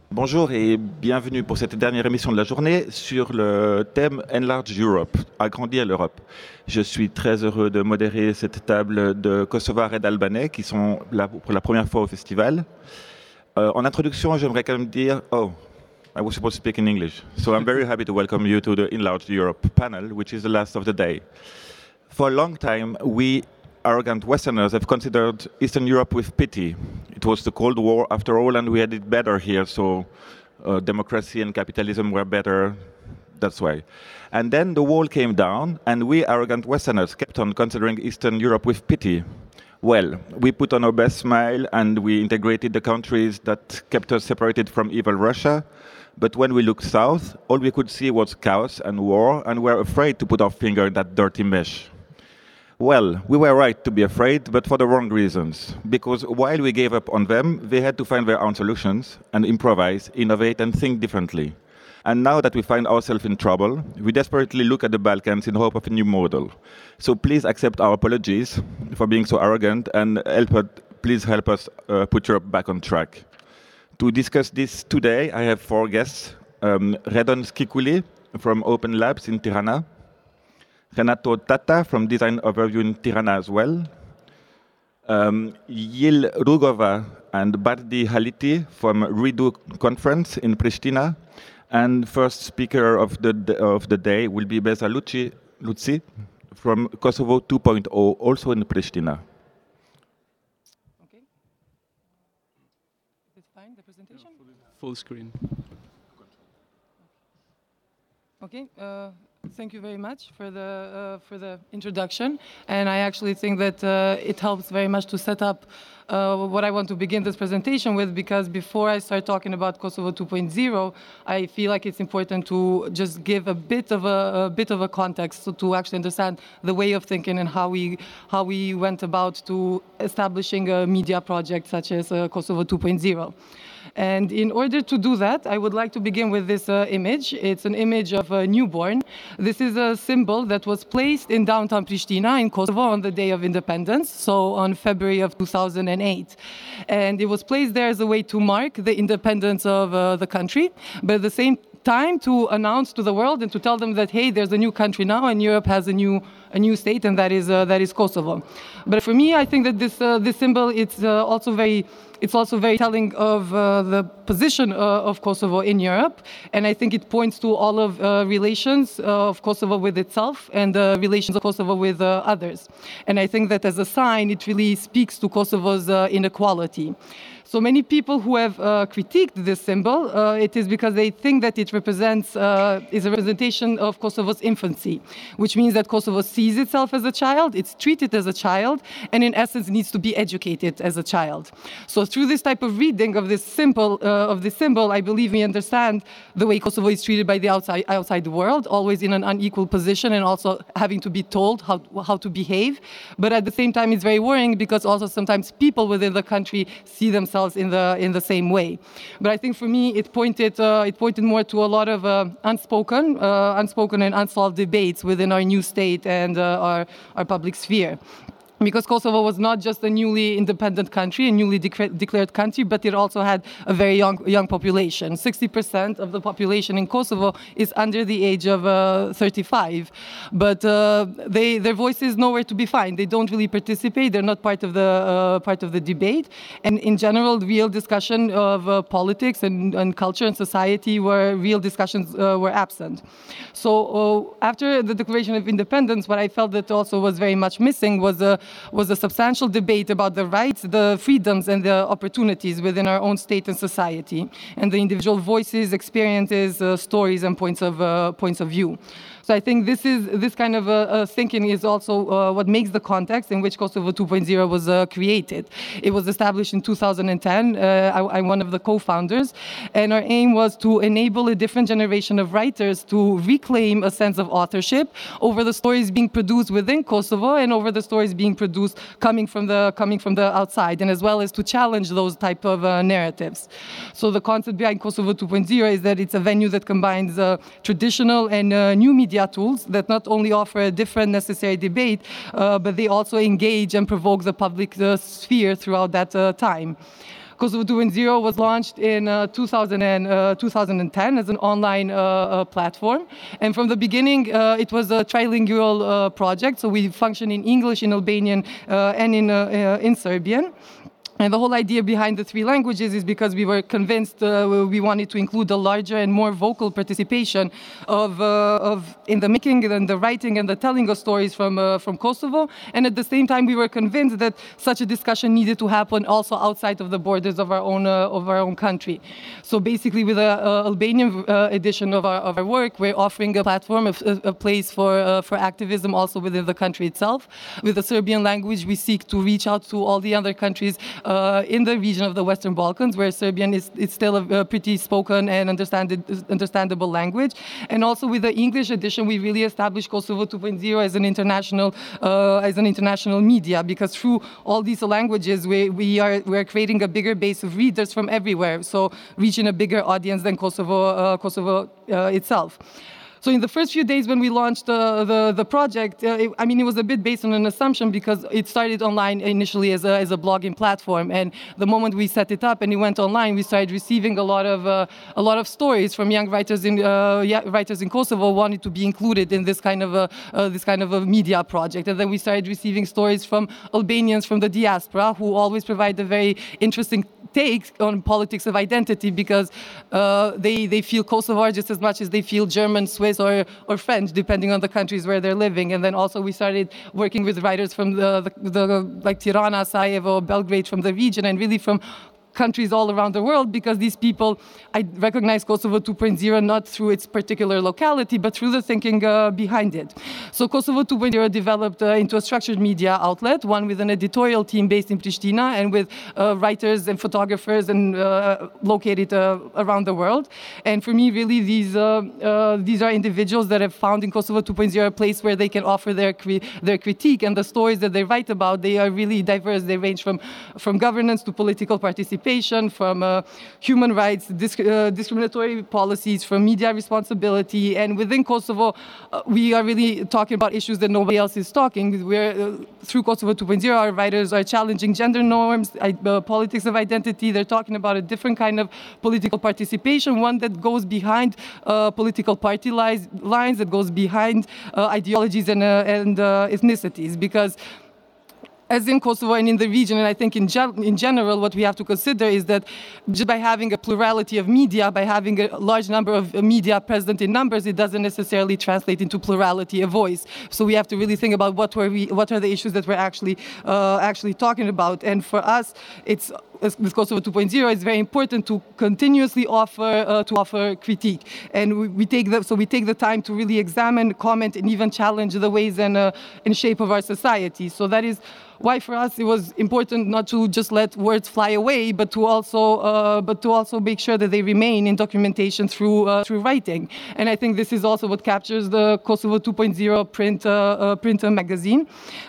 Bonjour et bienvenue pour cette dernière émission de la journée sur le thème Enlarge Europe, agrandir l'Europe. Je suis très heureux de modérer cette table de Kosovars et d'Albanais qui sont là pour la première fois au festival. En introduction, j'aimerais quand même dire, I was supposed to speak in English. So I'm very happy to welcome you to the Enlarged Europe panel, which is the last of the day. For a long time, we arrogant Westerners have considered Eastern Europe with pity. It was the Cold War after all, and we had it better here, so democracy and capitalism were better, that's why. And then the wall came down, and we arrogant Westerners kept on considering Eastern Europe with pity. Well, we put on our best smile, and we integrated the countries that kept us separated from evil Russia. But when we looked south, all we could see was chaos and war, and we were afraid to put our finger in that dirty mesh. Well, we were right to be afraid, but for the wrong reasons. Because while we gave up on them, they had to find their own solutions and improvise, innovate, and think differently. And now that we find ourselves in trouble, we desperately look at the Balkans in hope of a new model. So please accept our apologies for being so arrogant, and please help us put Europe back on track. To discuss this today, I have four guests. Redon Skikuli from Open Labs in Tirana. Renato Tata from Design Overview in Tirana as well. Yil Rugova and Bardi Haliti from Redo Conference in Pristina. And first speaker of the day will be Beza Luci from Kosovo 2.0, also in Pristina. Okay. Is it fine, the presentation? Full screen. Okay. Thank you very much for the introduction, and I actually think that it helps very much to set up what I want to begin this presentation with, because before I start talking about Kosovo 2.0, I feel like it's important to just give a bit of a context to actually understand the way of thinking and how we went about to establishing a media project such as Kosovo 2.0. And in order to do that, I would like to begin with this image. It's an image of a newborn. This is a symbol that was placed in downtown Pristina in Kosovo on the day of independence, so on February of 2008. And it was placed there as a way to mark the independence of the country, but at the same time to announce to the world and to tell them that, hey, there's a new country now and Europe has a new state, and that is Kosovo. But for me, I think that this symbol, it's also very telling of the position of Kosovo in Europe, and I think it points to all of relations of Kosovo with itself and the relations of Kosovo with others. And I think that as a sign, it really speaks to Kosovo's inequality. So many people who have critiqued this symbol, it is because they think that it is a representation of Kosovo's infancy, which means that Kosovo sees itself as a child, it's treated as a child, and in essence needs to be educated as a child. So through this type of reading of this symbol, I believe we understand the way Kosovo is treated by the outside world, always in an unequal position and also having to be told how to behave. But at the same time, it's very worrying because also sometimes people within the country see themselves in the same way. But I think for me, it pointed more to a lot of unspoken and unsolved debates within our new state and our public sphere. Because Kosovo was not just a newly independent country, a newly declared country, but it also had a very young population. 60% of the population in Kosovo is under the age of 35. But their voice is nowhere to be found. They don't really participate. They're not part of the debate. And in general, real discussion of politics and culture and society real discussions were absent. So after the Declaration of Independence, what I felt that also was very much missing was a substantial debate about the rights, the freedoms, and the opportunities within our own state and society, and the individual voices, experiences, stories, and points of view. So I think this kind of thinking is also what makes the context in which Kosovo 2.0 was created. It was established in 2010. I'm one of the co-founders, and our aim was to enable a different generation of writers to reclaim a sense of authorship over the stories being produced within Kosovo and over the stories being produced coming from the outside, and as well as to challenge those type of narratives. So the concept behind Kosovo 2.0 is that it's a venue that combines traditional and new media tools that not only offer a different necessary debate, but they also engage and provoke the public sphere throughout that time. Kosovo 2.0 was launched in 2010 as an online platform. And from the beginning, it was a trilingual project. So we function in English, in Albanian, and in Serbian. And the whole idea behind the three languages is because we were convinced we wanted to include a larger and more vocal participation of in the making and the writing and the telling of stories from Kosovo. And at the same time, we were convinced that such a discussion needed to happen also outside of the borders of our own country. So basically, with the Albanian edition of our work, we're offering a platform, a place for activism also within the country itself. With the Serbian language, we seek to reach out to all the other countries in the region of the Western Balkans, where Serbian is still a pretty spoken and understandable language. And also with the English edition, we really established Kosovo 2.0 as an international media, because through all these languages, we're creating a bigger base of readers from everywhere, so reaching a bigger audience than Kosovo itself. So in the first few days when we launched the project, it was a bit based on an assumption, because it started online initially as a blogging platform. And the moment we set it up and it went online, we started receiving a lot of stories from young writers in Kosovo wanting to be included in this kind of a media project. And then we started receiving stories from Albanians from the diaspora, who always provide a very interesting take on politics of identity, because they feel Kosovar just as much as they feel German, Swiss, or French, depending on the countries where they're living. And then also we started working with writers from like Tirana, Sarajevo, Belgrade, from the region, and really from countries all around the world, because these people, I recognize Kosovo 2.0 not through its particular locality, but through the thinking behind it. So Kosovo 2.0 developed into a structured media outlet, one with an editorial team based in Pristina, and with writers and photographers and located around the world. And for me, really, these are individuals that have found in Kosovo 2.0 a place where they can offer their critique, and the stories that they write about, they are really diverse. They range from governance to political participation, from human rights, discriminatory policies, from media responsibility. And within Kosovo, we are really talking about issues that nobody else is talking. Through Kosovo 2.0, our writers are challenging gender norms, politics of identity. They're talking about a different kind of political participation, one that goes behind political party lines, that goes behind ideologies and ethnicities. Because as in Kosovo and in the region, and I think in general, what we have to consider is that just by having a plurality of media, by having a large number of media present in numbers, it doesn't necessarily translate into plurality of voice. So we have to really think about what are the issues that we're actually talking about. And for us, with Kosovo 2.0, it's very important to continuously offer critique, and we take the time to really examine, comment, and even challenge the ways and shape of our society. So that is why for us it was important not to just let words fly away, but to also make sure that they remain in documentation through writing. And I think this is also what captures the Kosovo 2.0 print magazine.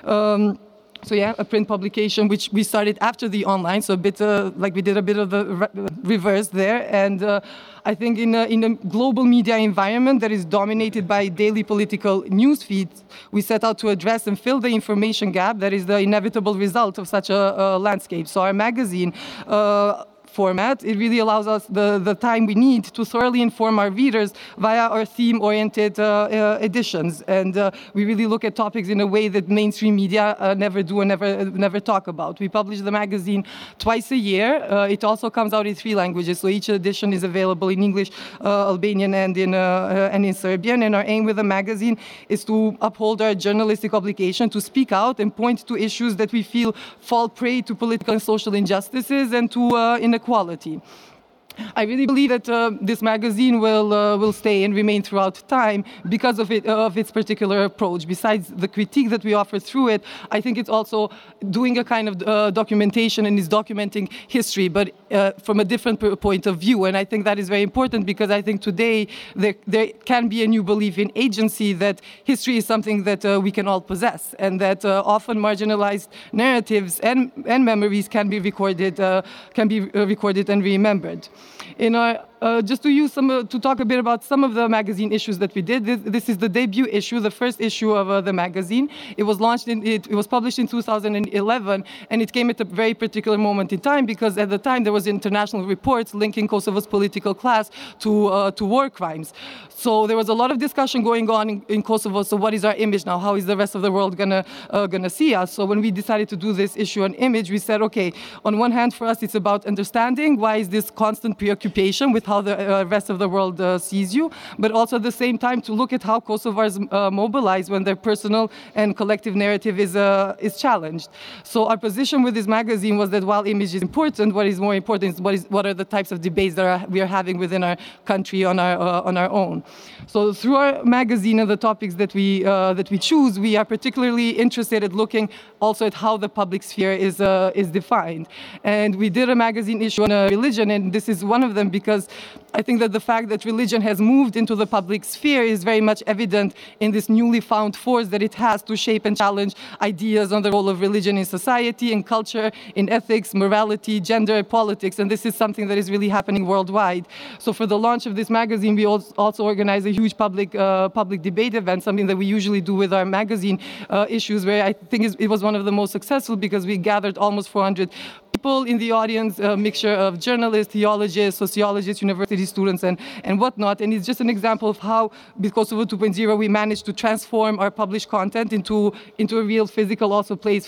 So yeah, a print publication which we started after the online, so a bit like we did a bit of the reverse there. And I think in a global media environment that is dominated by daily political news feeds, we set out to address and fill the information gap that is the inevitable result of such a landscape. So our magazine format, it really allows us the time we need to thoroughly inform our readers via our theme-oriented editions. And we really look at topics in a way that mainstream media never do and never talk about. We publish the magazine twice a year. It also comes out in 3 languages, so each edition is available in English, Albanian, and in Serbian. And our aim with the magazine is to uphold our journalistic obligation to speak out and point to issues that we feel fall prey to political and social injustices and to inequality. I really believe that this magazine will stay and remain throughout time because of its particular approach. Besides the critique that we offer through it, I think it's also doing a kind of documentation and is documenting history, but from a different point of view. And I think that is very important because I think today there can be a new belief in agency, that history is something that we can all possess, and that often marginalized narratives and memories can be recorded and remembered. In our just to talk a bit about some of the magazine issues that we did. This is the debut issue, the first issue of the magazine. It was published in 2011, and it came at a very particular moment in time because at the time there was international reports linking Kosovo's political class to war crimes. So there was a lot of discussion going on in Kosovo. So what is our image now? How is the rest of the world gonna see us? So when we decided to do this issue on image, we said, okay, on one hand, for us, it's about understanding why is this constant preoccupation with how the rest of the world sees you, but also at the same time to look at how Kosovars mobilize when their personal and collective narrative is challenged. So our position with this magazine was that while image is important, what is more important is what are the types of debates that we are having within our country on our own. So through our magazine and the topics that we choose, we are particularly interested in looking also at how the public sphere is defined. And we did a magazine issue on religion, and this is one of them because I think that the fact that religion has moved into the public sphere is very much evident in this newly found force that it has to shape and challenge ideas on the role of religion in society, in culture, in ethics, morality, gender, politics, and this is something that is really happening worldwide. So for the launch of this magazine, we also organized a huge public debate event, something that we usually do with our magazine issues, where I think it was one of the most successful because we gathered almost 400 people in the audience, a mixture of journalists, theologians, sociologists, university students, and whatnot. And it's just an example of how, with Kosovo 2.0, we managed to transform our published content into a real physical also place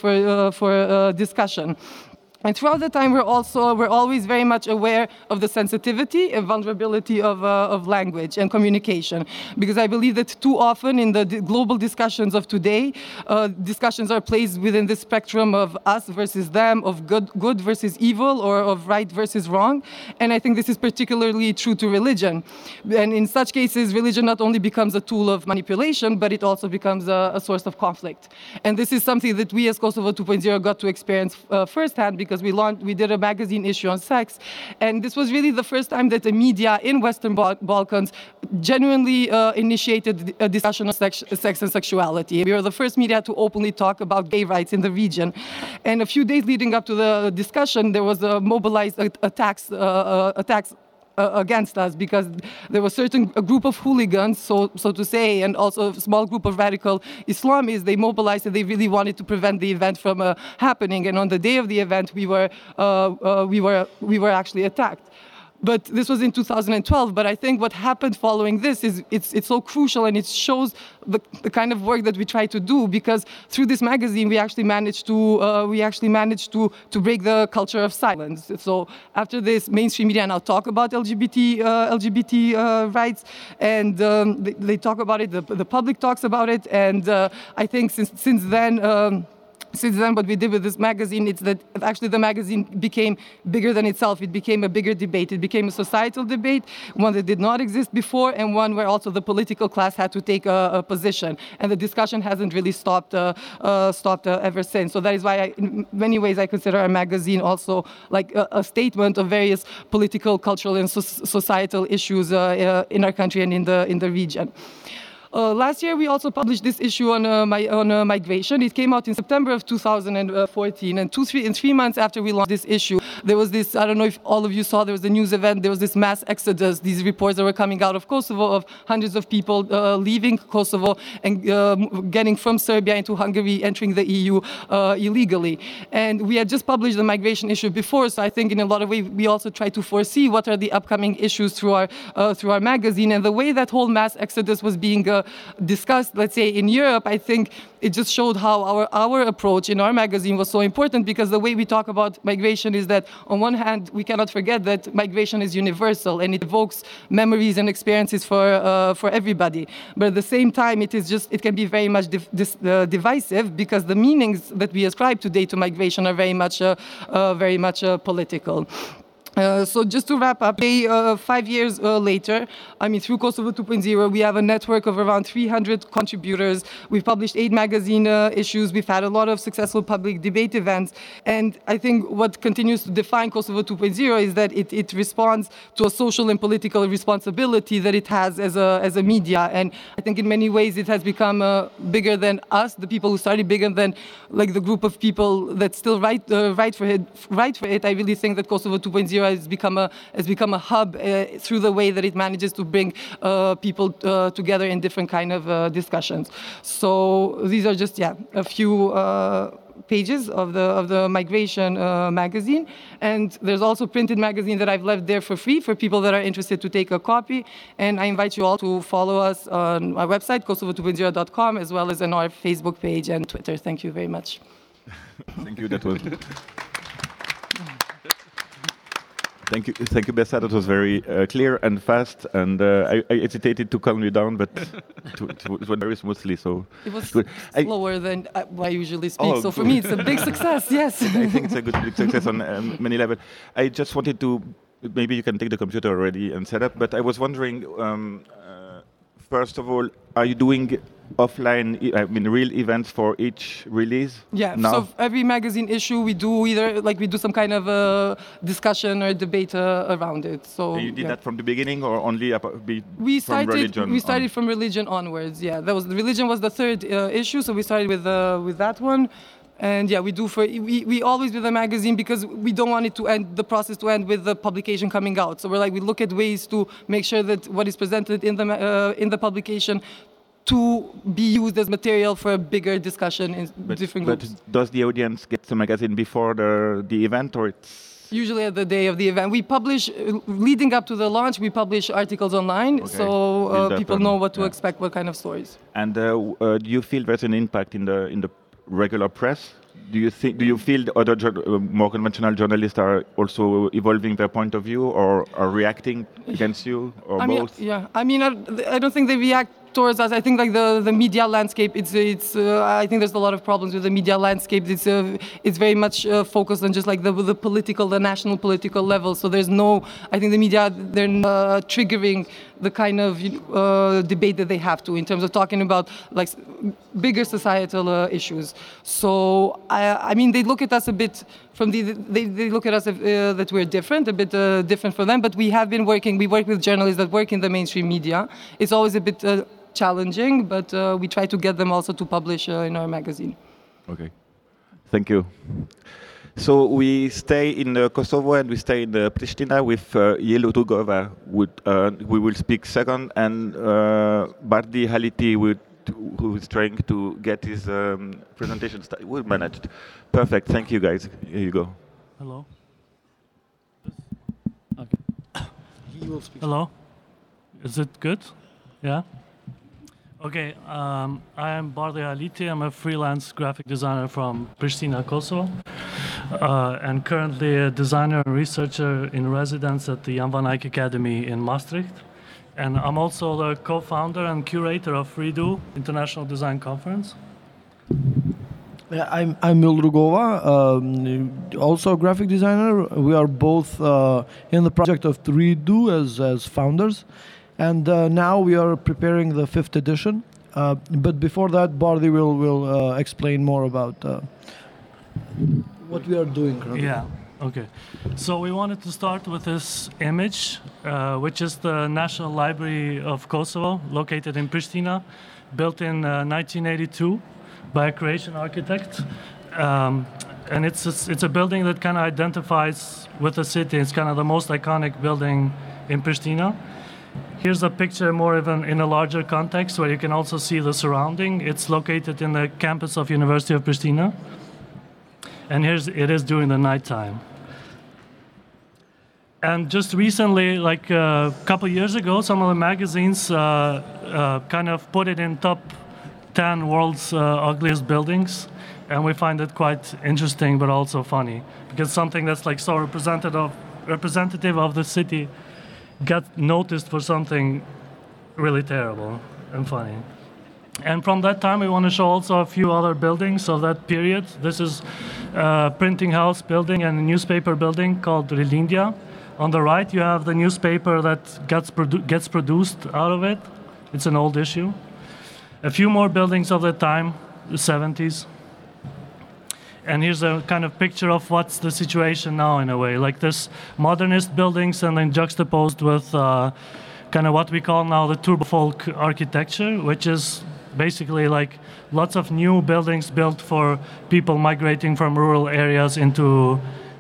for discussion. And throughout the time, we're always very much aware of the sensitivity and vulnerability of language and communication, because I believe that too often in the global discussions of today, discussions are placed within this spectrum of us versus them, of good versus evil, or of right versus wrong. And I think this is particularly true to religion. And in such cases, religion not only becomes a tool of manipulation, but it also becomes a source of conflict. And this is something that we as Kosovo 2.0 got to experience firsthand, because we did a magazine issue on sex, and this was really the first time that the media in Western Balkans genuinely initiated a discussion of sex and sexuality. We were the first media to openly talk about gay rights in the region. And a few days leading up to the discussion, there was a mobilized attacks against us, because there was a group of hooligans, so to say, and also a small group of radical Islamists. They mobilized and they really wanted to prevent the event from happening. And on the day of the event, we were actually attacked. But this was in 2012. But I think what happened following this is it's so crucial, and it shows the kind of work that we try to do, because through this magazine we actually managed to break the culture of silence. So after this, mainstream media now talk about LGBT rights, and they talk about it. The public talks about it, and I think since then. Since then, what we did with this magazine, it's that actually the magazine became bigger than itself. It became a bigger debate. It became a societal debate, one that did not exist before, and one where also the political class had to take a position. And the discussion hasn't really stopped ever since. So that is why, in many ways, I consider our magazine also like a statement of various political, cultural, and societal issues in our country and in the region. Last year, we also published this issue on migration. It came out in September of 2014, and 3 months after we launched this issue, there was this, I don't know if all of you saw, there was a news event, there was this mass exodus, these reports that were coming out of Kosovo of hundreds of people leaving Kosovo and getting from Serbia into Hungary, entering the EU illegally. And we had just published the migration issue before, so I think in a lot of ways, we also try to foresee what are the upcoming issues through our magazine. And the way that whole mass exodus was being discussed, let's say, in Europe, I think it just showed how our approach in our magazine was so important, because the way we talk about migration is that, on one hand, we cannot forget that migration is universal and it evokes memories and experiences for everybody. But at the same time, it can be very much divisive, because the meanings that we ascribe today to migration are very much political. So just to wrap up, 5 years later, through Kosovo 2.0, we have a network of around 300 contributors. We've published 8 magazine issues. We've had a lot of successful public debate events. And I think what continues to define Kosovo 2.0 is that it responds to a social and political responsibility that it has as a media. And I think in many ways it has become bigger than us, the people who started, bigger than like the group of people that still write for it. I really think that Kosovo 2.0 Tupunjira has become a hub through the way that it manages to bring people together in different kind of discussions. So these are just a few pages of the Migration magazine, and there's also printed magazine that I've left there for free for people that are interested to take a copy. And I invite you all to follow us on our website, kosovotupunjira.com, as well as on our Facebook page and Twitter. Thank you very much. Thank you. That was. Thank you, Bessa. That was very clear and fast, and I hesitated to calm you down, but it went very smoothly. So it was slower than I usually speak. So for me, it's a big success. Yes. I think it's a big success on many levels. I just wanted to, maybe you can take the computer already and set up, but I was wondering, first of all, are you doing offline, real events for each release? Yeah, now? So every magazine issue we do we do some kind of a discussion or debate around it. So you did that from the beginning, or only we from religion? We started from religion onwards. Yeah, religion was the third issue, so we started with that one. And yeah, we always with the magazine, because we don't want it to end, the process to end with the publication coming out. So we look at ways to make sure that what is presented in the publication to be used as material for a bigger discussion in different groups. But does the audience get the magazine before the event, or it's... Usually at the day of the event. We publish, leading up to the launch, we publish articles online, so people know what to expect, what kind of stories. And do you feel there's an impact in the regular press? Do you feel the other more conventional journalists are also evolving their point of view, or are reacting against you, or both? I don't think they react towards us. I think the media landscape. I think there's a lot of problems with the media landscape. It's very much focused on just the national political level. So there's no. I think the media, they're triggering the kind of debate that they have to in terms of talking about bigger societal issues. So they look at us a bit they look at us that we're different, a bit different from them. But we have been working. We work with journalists that work in the mainstream media. It's always a bit challenging, but we try to get them also to publish in our magazine. Okay, thank you. So we stay in Kosovo and we stay in Pristina with Jelo Rugova. We will speak second, and Bardi Haliti, who is trying to get his presentation started. We managed. Perfect. Thank you, guys. Here you go. Hello. Okay. He will speak. Hello. Is it good? Yeah. Okay, I am Bardi Haliti. I'm a freelance graphic designer from Pristina, Kosovo, and currently a designer and researcher in residence at the Jan van Eyck Academy in Maastricht. And I'm also the co-founder and curator of Redo International Design Conference. Yeah, I'm Jelo Rugova, also a graphic designer. We are both in the project of Redo as founders. And now we are preparing the 5th edition. But before that, Bardi will explain more about what we are doing currently. Yeah, okay. So we wanted to start with this image, which is the National Library of Kosovo, located in Pristina, built in 1982 by a Croatian architect. And it's a building that kind of identifies with the city. It's kind of the most iconic building in Pristina. Here's a picture more even in a larger context where you can also see the surrounding. It's located in the campus of University of Pristina. And it is during the nighttime. And just recently, like a couple years ago, some of the magazines kind of put it in top 10 world's ugliest buildings. And we find it quite interesting, but also funny. Because something that's like so representative of the city got noticed for something really terrible and funny. And from that time, we want to show also a few other buildings of that period. This is a printing house building and a newspaper building called Rilindia. On the right, you have the newspaper that gets produced out of it. It's an old issue. A few more buildings of the time, the 70s. And here's a kind of picture of what's the situation now in a way. Like this modernist buildings and then juxtaposed with kind of what we call now the turbo folk architecture, which is basically like lots of new buildings built for people migrating from rural areas into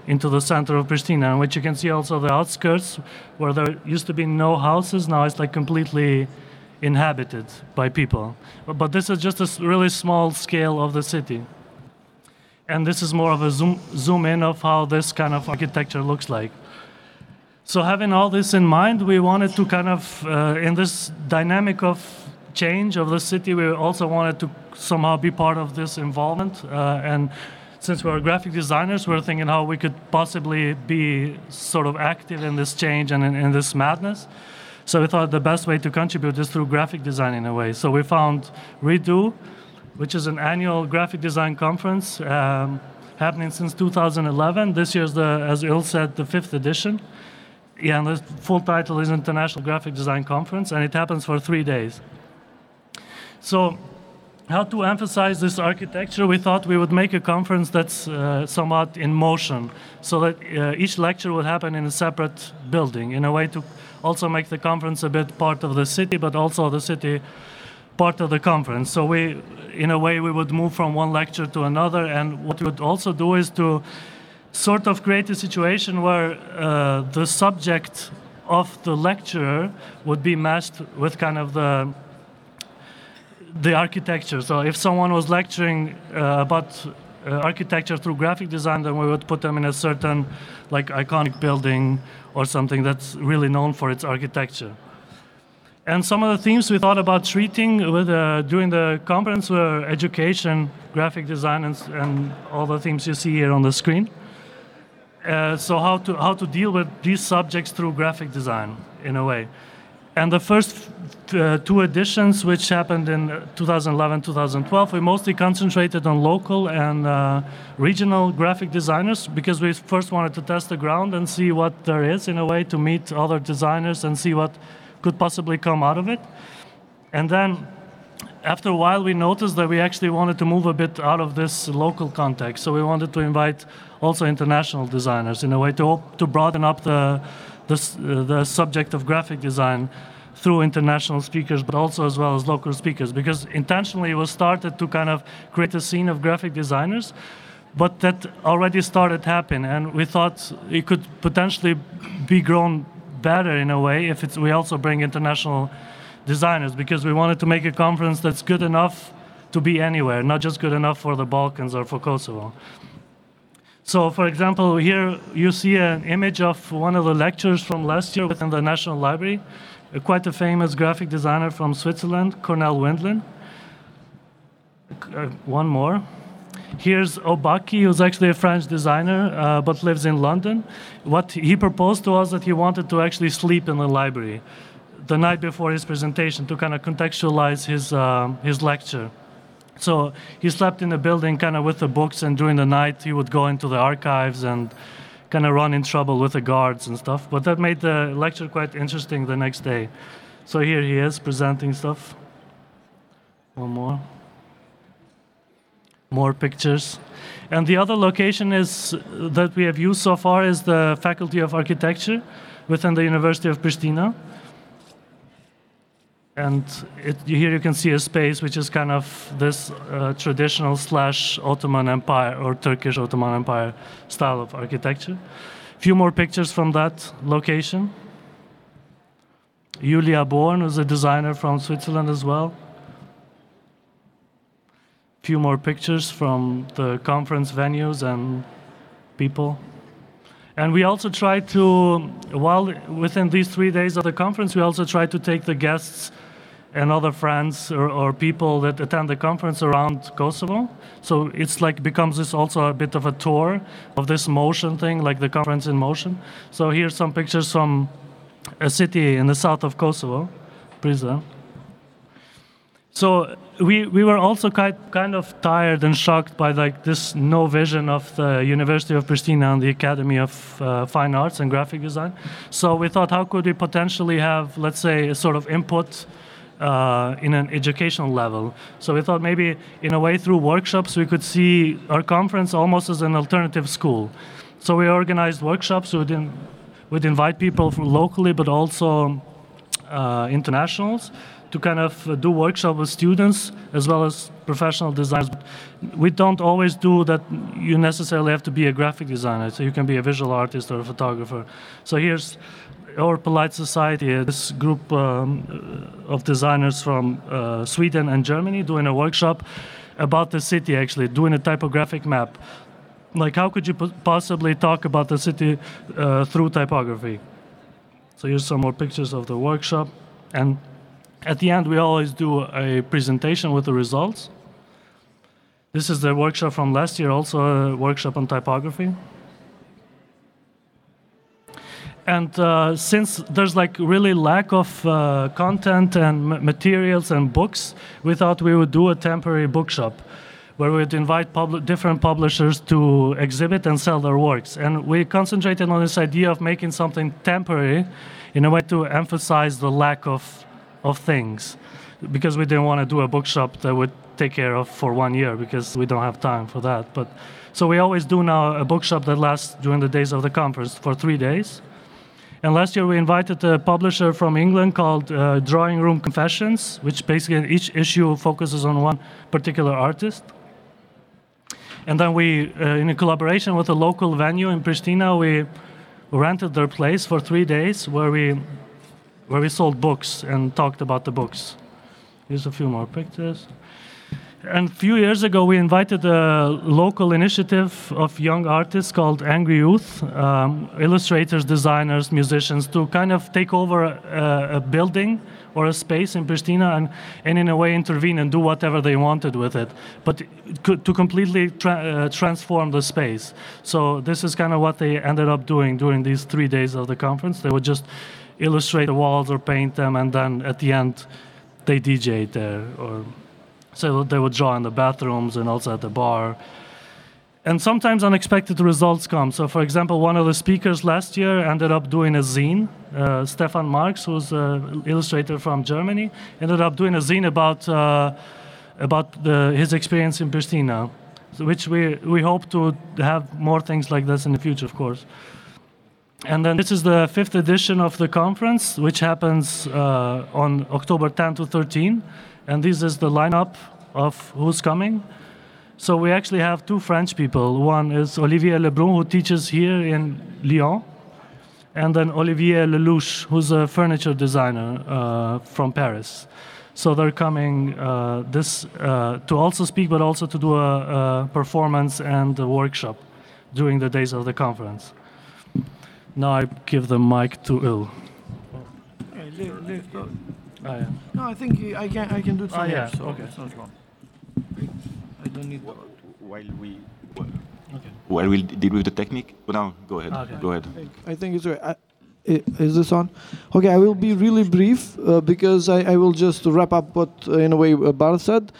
into the center of Pristina, in which you can see also the outskirts where there used to be no houses. Now it's like completely inhabited by people. But this is just a really small scale of the city. And this is more of a zoom in of how this kind of architecture looks like. So having all this in mind, we wanted to kind of, in this dynamic of change of the city, we also wanted to somehow be part of this involvement. And since we're graphic designers, we're thinking how we could possibly be sort of active in this change and in this madness. So we thought the best way to contribute is through graphic design in a way. So we found Redo, which is an annual graphic design conference happening since 2011. This year's, as Il said, the 5th edition. Yeah, and the full title is International Graphic Design Conference, and it happens for 3 days. So how to emphasize this architecture? We thought we would make a conference that's somewhat in motion, so that each lecture would happen in a separate building, in a way to also make the conference a bit part of the city, but also the city part of the conference. So we, in a way, we would move from one lecture to another, and what we would also do is to sort of create a situation where the subject of the lecturer would be matched with kind of the architecture. So if someone was lecturing about architecture through graphic design, then we would put them in a certain like iconic building or something that's really known for its architecture. And some of the themes we thought about treating with, during the conference were education, graphic design, and all the themes you see here on the screen. So how to deal with these subjects through graphic design, in a way. And the first 2 editions, which happened in 2011-2012, we mostly concentrated on local and regional graphic designers, because we first wanted to test the ground and see what there is, in a way, to meet other designers and see what could possibly come out of it. And then after a while, we noticed that we actually wanted to move a bit out of this local context. So we wanted to invite also international designers, in a way, to broaden up the subject of graphic design through international speakers, but also as well as local speakers, because intentionally it was started to kind of create a scene of graphic designers, but that already started happening, and we thought it could potentially be grown better in a way if we also bring international designers, because we wanted to make a conference that's good enough to be anywhere, not just good enough for the Balkans or for Kosovo. So, for example, here you see an image of one of the lecturers from last year within the National Library, quite a famous graphic designer from Switzerland, Cornel Windlin. One more. Here's Obaki, who's actually a French designer, but lives in London. What he proposed to us that he wanted to actually sleep in the library the night before his presentation to kind of contextualize his lecture. So he slept in the building kind of with the books, and during the night he would go into the archives and kind of run in trouble with the guards and stuff. But that made the lecture quite interesting the next day. So here he is presenting stuff. One more. More pictures. And the other location is that we have used so far is the Faculty of Architecture within the University of Pristina. And here you can see a space which is kind of this traditional / Ottoman Empire or Turkish Ottoman Empire style of architecture. A few more pictures from that location. Julia Born, who's a designer from Switzerland as well. A few more pictures from the conference venues and people. And we also tried to, while within these 3 days of the conference, we also tried to take the guests and other friends or people that attend the conference around Kosovo. So it's like becomes this also a bit of a tour of this motion thing, like the conference in motion. So here's some pictures from a city in the south of Kosovo, Prizren. So we were also kind of tired and shocked by like this no vision of the University of Pristina and the Academy of Fine Arts and Graphic Design. So we thought, how could we potentially have, let's say, a sort of input in an educational level? So we thought maybe in a way through workshops we could see our conference almost as an alternative school. So we organized workshops. We'd invite people from locally, but also internationals, to kind of do workshop with students as well as professional designers. We don't always do that. You necessarily have to be a graphic designer, so you can be a visual artist or a photographer. So here's our Polite Society, this group of designers from Sweden and Germany doing a workshop about the city, actually doing a typographic map. Like, how could you possibly talk about the city through typography? So here's some more pictures of the workshop. And at the end, we always do a presentation with the results. This is the workshop from last year, also a workshop on typography. And since there's like really lack of content and materials and books, we thought we would do a temporary bookshop where we'd invite different publishers to exhibit and sell their works. And we concentrated on this idea of making something temporary in a way to emphasize the lack of things, because we didn't want to do a bookshop that would take care of for 1 year, because we don't have time for that. But so we always do now a bookshop that lasts during the days of the conference for 3 days. And last year we invited a publisher from England called Drawing Room Confessions, which basically each issue focuses on one particular artist. And then we, in a collaboration with a local venue in Pristina, we rented their place for 3 days where we sold books and talked about the books. Here's a few more pictures. And a few years ago, we invited a local initiative of young artists called Angry Youth, illustrators, designers, musicians, to kind of take over a building or a space in Pristina and in a way intervene and do whatever they wanted with it, but to completely transform the space. So this is kind of what they ended up doing during these 3 days of the conference. They would just illustrate the walls or paint them, and then at the end, they DJ'd there. So they would draw in the bathrooms and also at the bar. And sometimes unexpected results come. So for example, one of the speakers last year ended up doing a zine. Stefan Marx, who's an illustrator from Germany, ended up doing a zine about his experience in Pristina, which we hope to have more things like this in the future, of course. And then this is the 5th edition of the conference, which happens on October 10 to 13. And this is the lineup of who's coming. So we actually have 2 French people. One is Olivier Lebrun, who teaches here in Lyon, and then Olivier Lelouch, who's a furniture designer from Paris. So they're coming to also speak, but also to do a performance and a workshop during the days of the conference. Now I give the mic to Il. Oh, yeah. No, I think I can do it from here. Yeah. So Okay. it's not wrong. I don't need. While we deal with the technique, no, go ahead. Okay. Go ahead. I think it's right. Is this on? Okay, I will be really brief because I will just wrap up what, in a way, Bart said.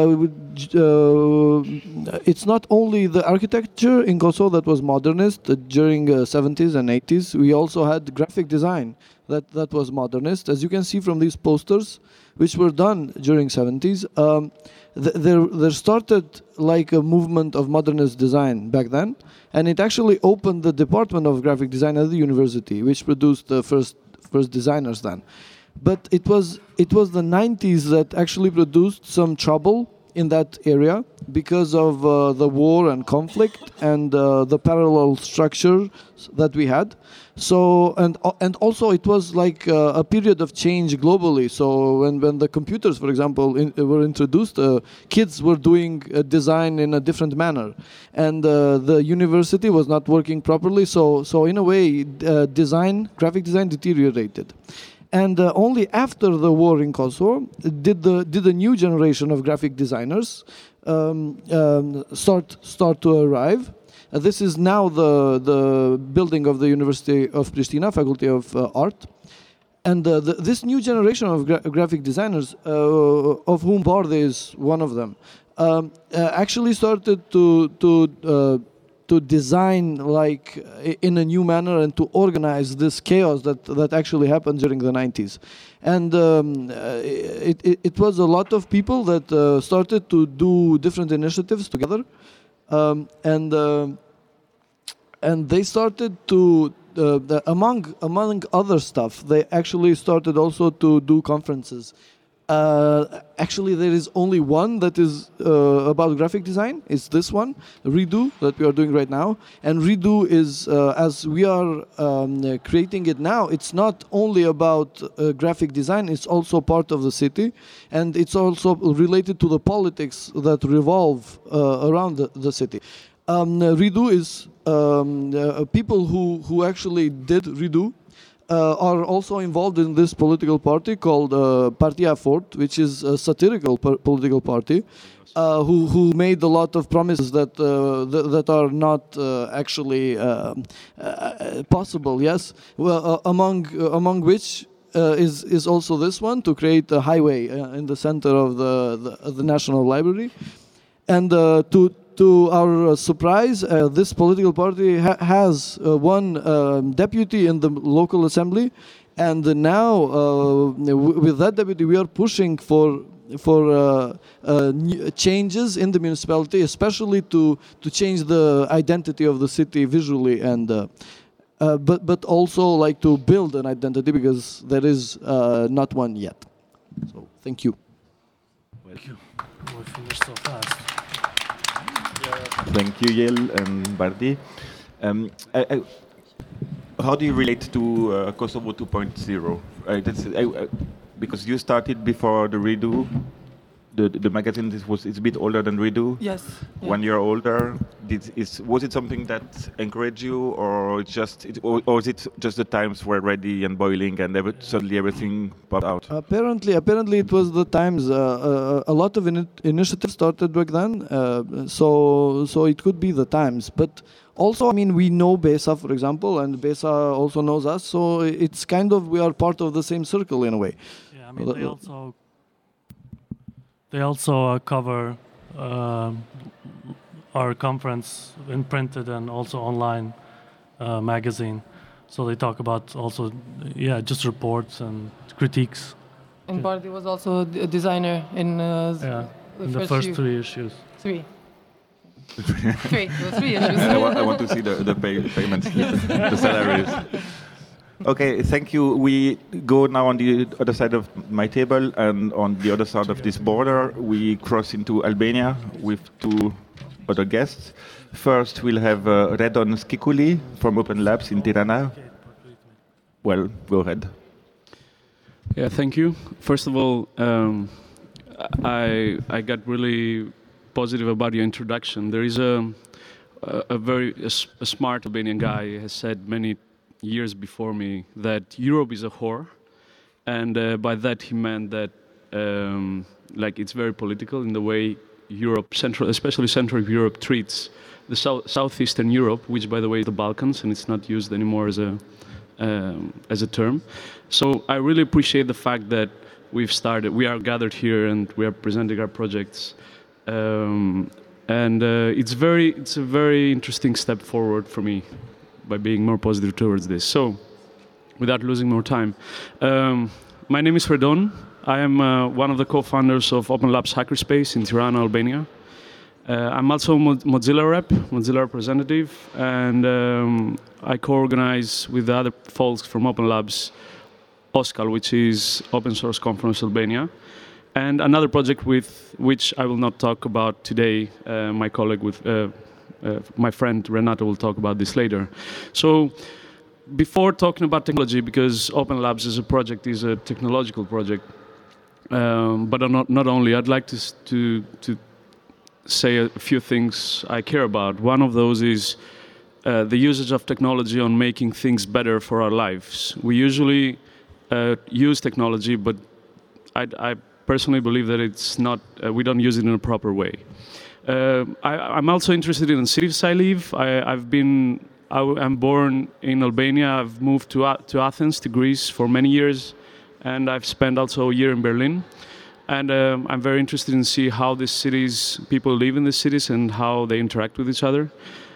It's not only the architecture in Kosovo that was modernist during 70s and 80s. We also had graphic design that was modernist. As you can see from these posters, which were done during 70s, there started like a movement of modernist design back then. And it actually opened the department of graphic design at the university, which produced the first designers then. But it was the 90s that actually produced some trouble in that area because of the war and conflict and the parallel structure that we had. So and also it was like a period of change globally. So when the computers, for example, were introduced, kids were doing design in a different manner, and the university was not working properly. So in a way, graphic design deteriorated. And only after the war in Kosovo did the new generation of graphic designers start to arrive. This is now the building of the University of Pristina, Faculty of Art. And this new generation of graphic designers, of whom Bard is one of them, actually started to design like in a new manner and to organize this chaos that actually happened during the 90s. And it was a lot of people that started to do different initiatives together. And they started to, among other stuff, they actually started also to do conferences Actually, there is only one that is about graphic design. It's this one, Redo, that we are doing right now. And Redo is, as we are creating it now, it's not only about graphic design, it's also part of the city. And it's also related to the politics that revolve around the city. Redo is people who actually did Redo are also involved in this political party called Partia Fort, which is a satirical political party, who made a lot of promises that are not actually possible. Yes, well, among which is also this one, to create a highway in the center of the National Library, and to our surprise, this political party has one deputy in the local assembly, and now with that deputy we are pushing for changes in the municipality, especially to change the identity of the city visually, and but also like to build an identity, because there is not one yet. So thank you. Thank you. We finished so fast. Thank you, Yael and Bardi. How do you relate to Kosovo 2.0? Because you started before the Redo. The magazine it's a bit older than Redo. Yes. Yeah. 1 year older. Was it something that encouraged you, or or is it just the times were ready and boiling, and suddenly everything popped out? Apparently, it was the times. A lot of initiatives started back then, so it could be the times. But also, I mean, we know Besa, for example, and Besa also knows us. So it's kind of, we are part of the same circle in a way. Yeah, I mean, they also cover our conference in printed and also online magazine. So they talk about also, just reports and critiques. And Bardi was also a designer in the first 3 issues. 3. 3. It was 3 issues. I want to see the payments, the salaries. Okay, thank you. We go now on the other side of my table, and on the other side of this border, we cross into Albania with 2 other guests. First, we'll have Redon Skikuli from Open Labs in Tirana. Well, go ahead. Yeah, thank you. First of all, I got really positive about your introduction. There is a very smart Albanian guy has said many years before me that Europe is a whore, and by that he meant that like it's very political in the way Europe, especially Central Europe, treats the southeastern Europe, which by the way is the Balkans, and it's not used anymore as a term. So I really appreciate the fact that we are gathered here and we are presenting our projects, and it's a very interesting step forward for me by being more positive towards this. So, without losing more time, my name is Redon. I am one of the co-founders of Open Labs Hackerspace in Tirana, Albania. I'm also a Mozilla rep, Mozilla representative, and I co-organize with the other folks from Open Labs, OSCAL, which is Open Source Conference Albania, and another project with which I will not talk about today. My colleague my friend Renato will talk about this later. So before talking about technology, because Open Labs as a project is a technological project, but not only, I'd like to say a few things I care about. One of those is the usage of technology on making things better for our lives. We usually use technology, but I personally believe that it's not, we don't use it in a proper way. I'm also interested in the cities I live. I'm born in Albania. I've moved to Athens, to Greece, for many years, and I've spent also a year in Berlin. And I'm very interested in see how these cities, people live in the cities and how they interact with each other.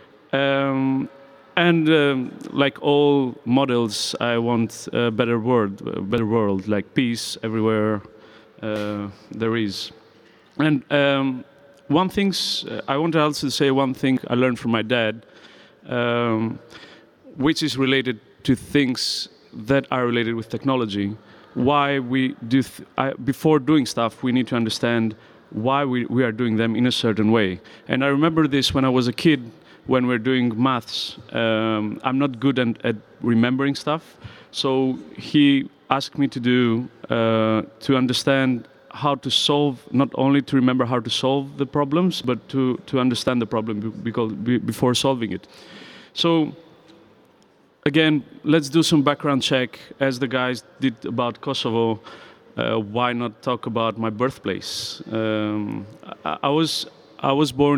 Like all models, I want a better world, like peace everywhere there is. And one thing, I want to also say one thing I learned from my dad, which is related to things that are related with technology. Why we do, before doing stuff, we need to understand why we are doing them in a certain way. And I remember this when I was a kid, when we're doing maths. I'm not good at remembering stuff. So he asked me to do, to understand how to solve, not only to remember how to solve the problems, but to understand the problem before solving it. So again, let's do some background check, as the guys did about Kosovo. Why not talk about my birthplace? I was born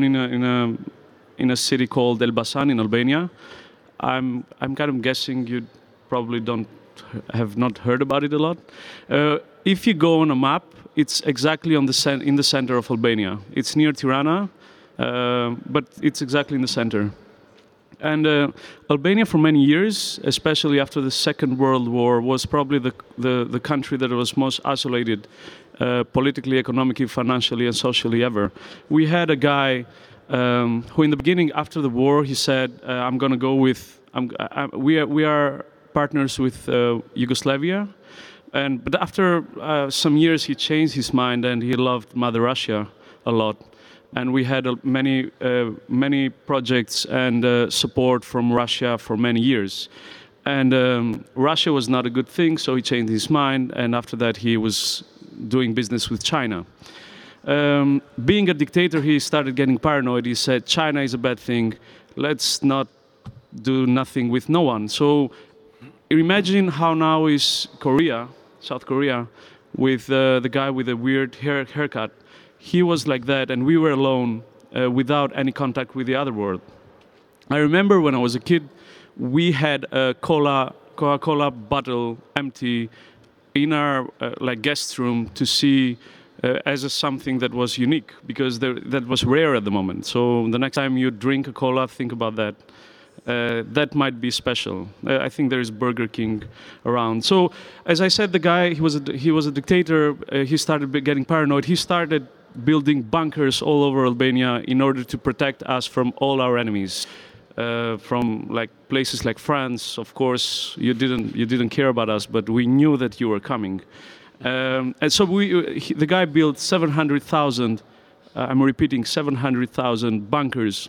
in a city called Elbasan in Albania. I'm kind of guessing you probably have not heard about it a lot. If you go on a map, it's exactly in the center of Albania. It's near Tirana, but it's exactly in the center. And Albania, for many years, especially after the Second World War, was probably the country that was most isolated politically, economically, financially, and socially ever. We had a guy who, in the beginning, after the war, he said, "I'm going to go with. We are partners with Yugoslavia." But after some years, he changed his mind and he loved Mother Russia a lot. And we had many projects and support from Russia for many years. And Russia was not a good thing, so he changed his mind. And after that, he was doing business with China. Being a dictator, he started getting paranoid. He said, China is a bad thing. Let's not do nothing with no one. So imagine how now is Korea, South Korea, with the guy with a weird haircut. He was like that, and we were alone without any contact with the other world. I remember when I was a kid, we had a Coca-Cola bottle empty in our guest room to see as something that was unique, because that was rare at the moment. So the next time you drink a cola, think about that. That might be special. I think there is Burger King around. So, as I said, the guy, he was a dictator. He started getting paranoid. He started building bunkers all over Albania in order to protect us from all our enemies. From places like France, of course, you didn't care about us, but we knew that you were coming. And so the guy built 700,000. I'm repeating, 700,000 bunkers.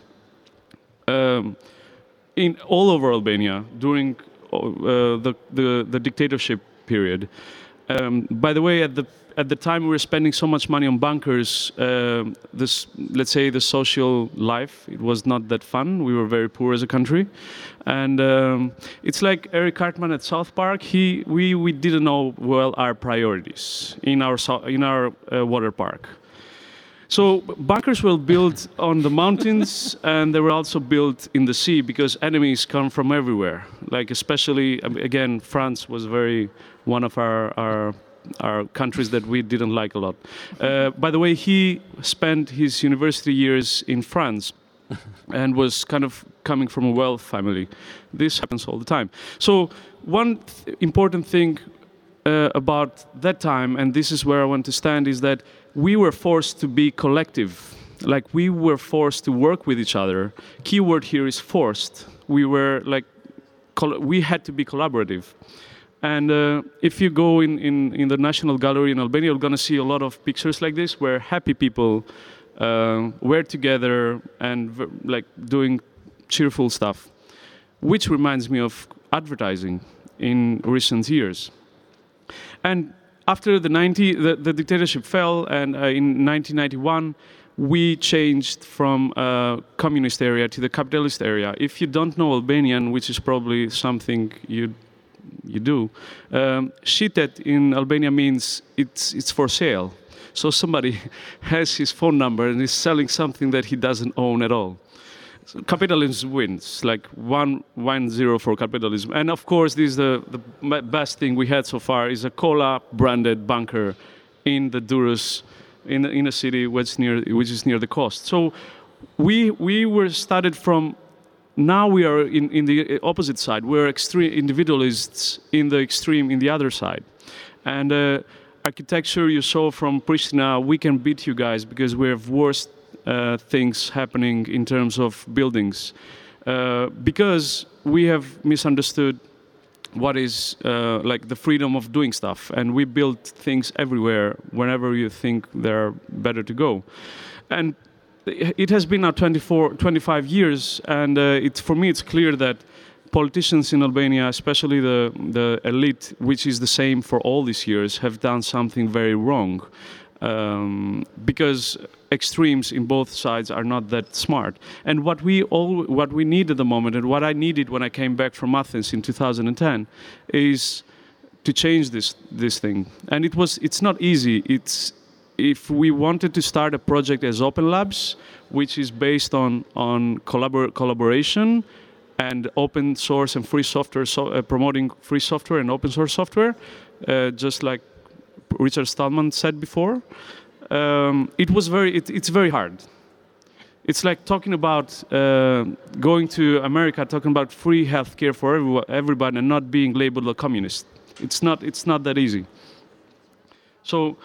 In all over Albania during the dictatorship period. By the way, at the time we were spending so much money on bunkers, let's say the social life, it was not that fun. We were very poor as a country, and it's like Eric Cartman at South Park. We didn't know well our priorities in our water park. So bunkers were built on the mountains, and they were also built in the sea, because enemies come from everywhere. Like especially, again, France was one of our countries that we didn't like a lot. By the way, he spent his university years in France and was kind of coming from a wealth family. This happens all the time. So one important thing about that time, and this is where I want to stand, is that we were forced to be collective. Like, we were forced to work with each other. Keyword here is forced. We had to be collaborative. And if you go in the National Gallery in Albania, you're going to see a lot of pictures like this, where happy people were together and doing cheerful stuff, which reminds me of advertising in recent years. And after the dictatorship fell, and in 1991, we changed from communist area to the capitalist area. If you don't know Albanian, which is probably something you do, shitet in Albania means it's for sale. So somebody has his phone number and is selling something that he doesn't own at all. So capitalism wins, like 1-0 for capitalism. And of course, this is the best thing we had so far, is a cola branded bunker in the Durrës, in a city which is near the coast. So we were started from. Now we are in the opposite side. We're extreme individualists in the other side. And architecture you saw from Pristina, we can beat you guys because we have worse things happening in terms of buildings. Because we have misunderstood what is like the freedom of doing stuff, and we build things everywhere whenever you think they're better to go. And it has been now 25 years, and for me it's clear that politicians in Albania, especially the elite, which is the same for all these years, have done something very wrong. Because extremes in both sides are not that smart. And what we need at the moment, and what I needed when I came back from Athens in 2010, is to change this thing. And it's not easy. If we wanted to start a project as Open Labs, which is based on collaboration and open source and free software, promoting free software and open source software, just like Richard Stallman said before, it's very hard. It's like talking about going to America, talking about free healthcare for everybody, and not being labeled a communist. It's not that easy. So,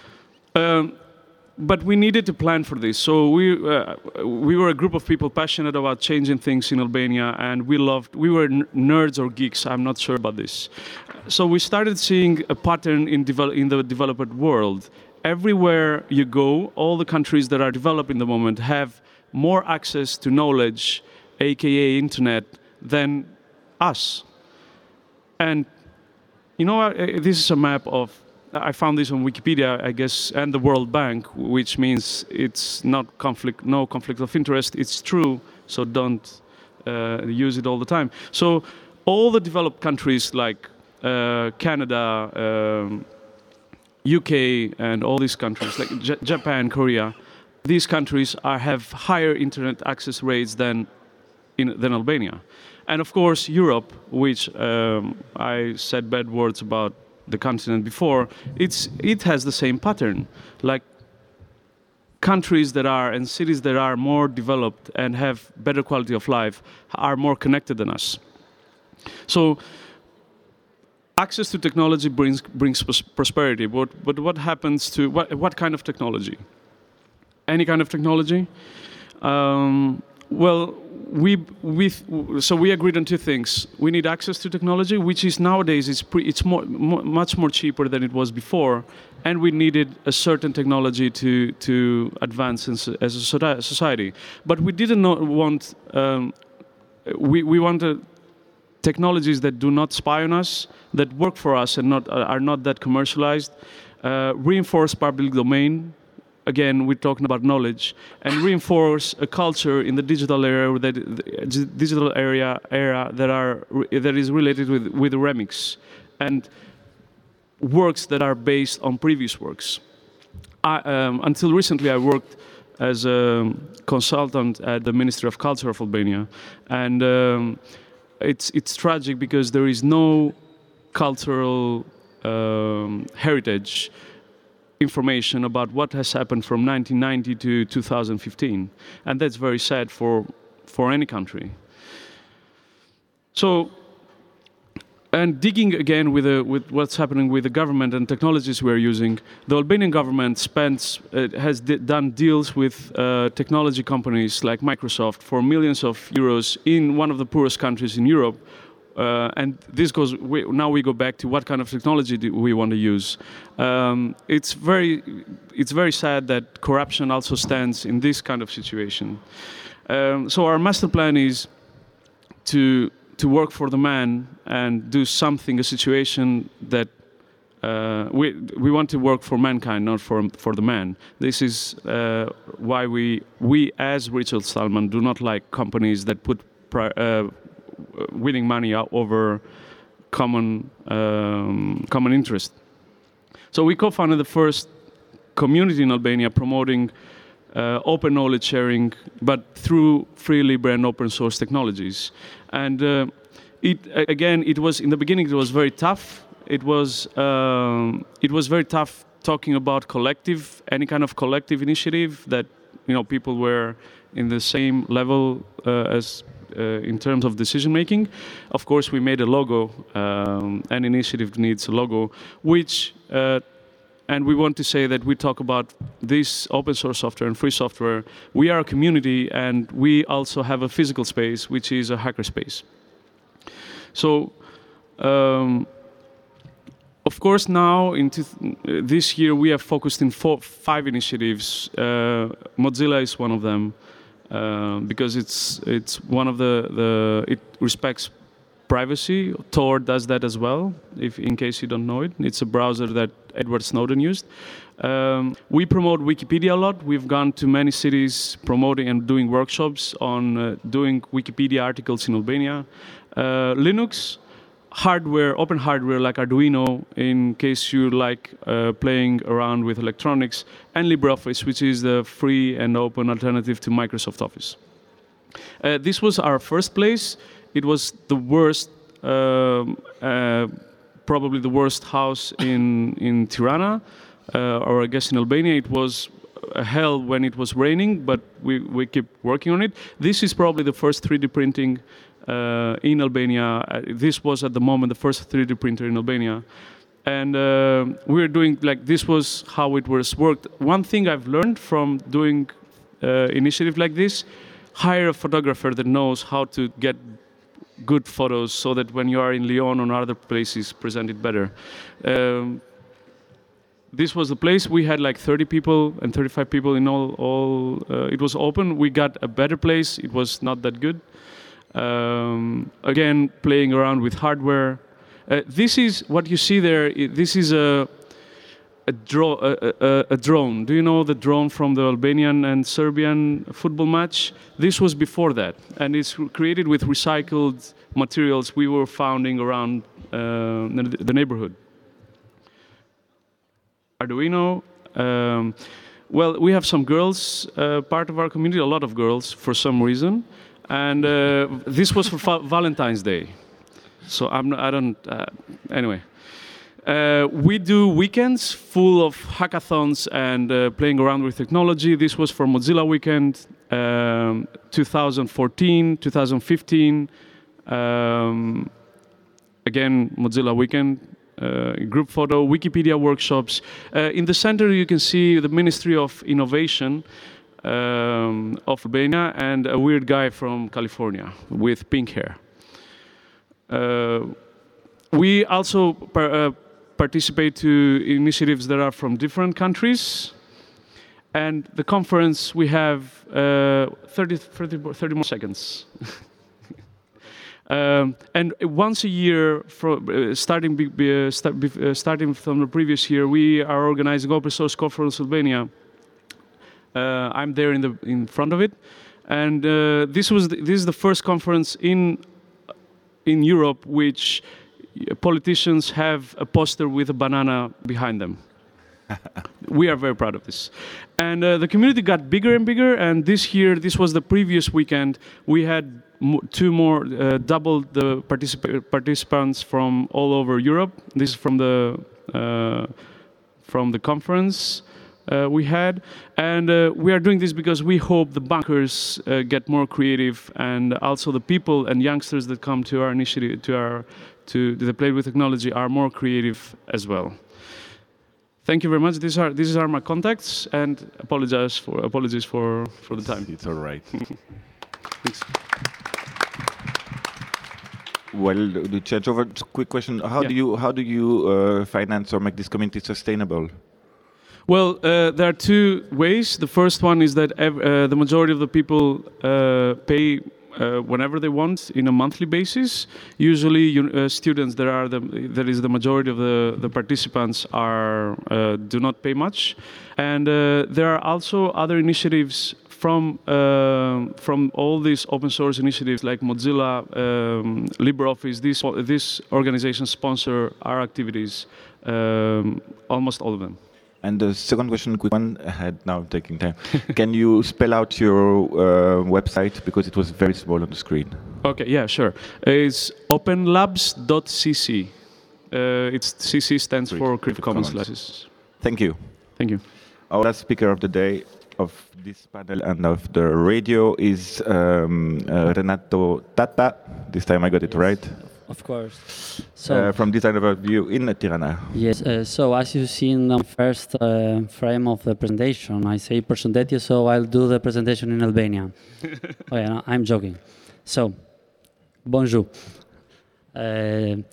but we needed to plan for this. So we were a group of people passionate about changing things in Albania, and we were nerds or geeks. I'm not sure about this. So we started seeing a pattern in the developed world. Everywhere you go, all the countries that are developed in the moment have more access to knowledge, aka internet, than us. And you know, this is a map of, I found this on Wikipedia, I guess, and the World Bank, which means it's not no conflict of interest. It's true, so don't use it all the time. So all the developed countries like Canada, UK, and all these countries like Japan, Korea, these countries have higher internet access rates than Albania. And of course, Europe, which I said bad words about the continent before, it has the same pattern. Like countries and cities that are more developed and have better quality of life are more connected than us. So access to technology brings prosperity. But what happens to what kind of technology? Any kind of technology? Well, so we agreed on two things. We need access to technology, which is nowadays it's much more cheaper than it was before, and we needed a certain technology to advance as a society. But we didn't want we wanted technologies that do not spy on us, that work for us and are not that commercialized, reinforce public domain. Again, we're talking about knowledge, and reinforce a culture in the digital era that is related with remix and works that are based on previous works. Until recently, I worked as a consultant at the Ministry of Culture of Albania, and it's tragic because there is no cultural heritage information about what has happened from 1990 to 2015, and that's very sad for any country. So, and digging again with what's happening with the government and technologies we're using, the Albanian government has done deals with technology companies like Microsoft for millions of euros in one of the poorest countries in Europe. And this goes. Now we go back to what kind of technology do we want to use. It's very sad that corruption also stands in this kind of situation. So our master plan is to work for the man and do something, a situation that we want to work for mankind, not for the man. This is why we as Richard Stallman do not like companies that put winning money over common interest. So we co-founded the first community in Albania promoting open knowledge sharing, but through free, libre, and open source technologies. And it was in the beginning. It was very tough. It was very tough talking about any kind of collective initiative that people were in the same level as. In terms of decision making. Of course, we made a logo. An initiative needs a logo, and we want to say that we talk about this open source software and free software. We are a community, and we also have a physical space, which is a hackerspace. So Um, of course, now this year we have focused in 5 initiatives. Mozilla is one of them because it's one of it respects privacy. Tor does that as well. In case you don't know it, it's a browser that Edward Snowden used. We promote Wikipedia a lot. We've gone to many cities promoting and doing workshops on doing Wikipedia articles in Albania. Linux, hardware, open hardware like Arduino, in case you like playing around with electronics, and LibreOffice, which is the free and open alternative to Microsoft Office. This was our first place. It was the worst, probably the worst house in Tirana, or I guess in Albania. It was a hell when it was raining, but we keep working on it. This is probably the first 3D printing in Albania. This was at the moment the first 3D printer in Albania. And we're doing, like, this was how it was worked. One thing I've learned from doing initiative like this, hire a photographer that knows how to get good photos so that when you are in Lyon or other places, present it better. This was the place. We had like 30 people and 35 people in all it was open. We got a better place. It was not that good. Again, playing around with hardware. This is what you see there. This is a drone. Do you know the drone from the Albanian and Serbian football match? This was before that, and it's created with recycled materials we were finding around the neighborhood. Arduino. Well, we have some girls, part of our community, a lot of girls for some reason, and this was for Valentine's Day. So anyway. We do weekends full of hackathons and playing around with technology. This was for Mozilla Weekend 2014, 2015. Again, Mozilla Weekend, group photo, Wikipedia workshops. In the center, you can see the Ministry of Innovation of Albania and a weird guy from California with pink hair. We also participate to initiatives that are from different countries. And the conference, we have 30 more seconds. And once a year, starting from the previous year, we are organizing Open Source Conference Albania. I'm there in front of it. And this is the first conference in Europe which politicians have a poster with a banana behind them. We are very proud of this. And the community got bigger and bigger, and this year, this was the previous weekend, we had double the participants from all over Europe. This is from the conference we had. And we are doing this because we hope the bankers get more creative, and also the people and youngsters that come to our initiative, to the Play with Technology, are more creative as well. Thank you very much. These are my contacts, and apologies for the time. It's all right. Thanks. Well, to change over, quick question: How do you finance or make this community sustainable? Well, there are 2 ways. The first one is that the majority of the people pay whenever they want in a monthly basis. Usually, students that is the majority of the participants do not pay much, and there are also other initiatives from all these open source initiatives like Mozilla, LibreOffice. These organizations sponsor our activities, almost all of them. And the second question, quick one, ahead now, taking time. Can you spell out your website, because it was very small on the screen? Okay, yeah, sure. It's openlabs.cc. CC stands for Creative Commons licenses. Thank you. Thank you. Our last speaker of the day, of this panel and of the radio, is Renato Tata. This time I got it right. Of course. So from Design Overview in Tirana. Yes. So as you've seen on the first frame of the presentation, I say "Përshëndetje," so I'll do the presentation in Albanian. Oh yeah, no, I'm joking. So, bonjour.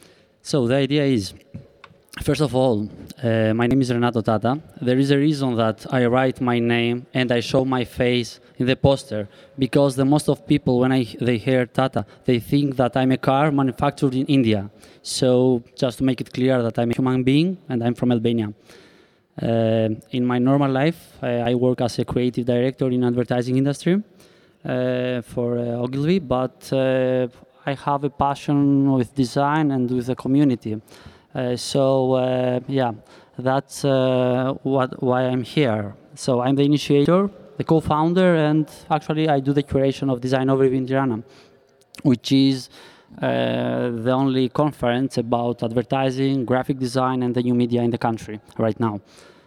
So the idea is, first of all, my name is Renato Tata. There is a reason that I write my name and I show my face in the poster, because the most of people, when they hear Tata, they think that I'm a car manufactured in India. So just to make it clear that I'm a human being and I'm from Albania. In my normal life, I work as a creative director in advertising industry for Ogilvy, but I have a passion with design and with the community. Yeah, that's why I'm here. So I'm the initiator, the co-founder, and actually I do the curation of Design Overview in Tirana, which is the only conference about advertising, graphic design, and the new media in the country right now.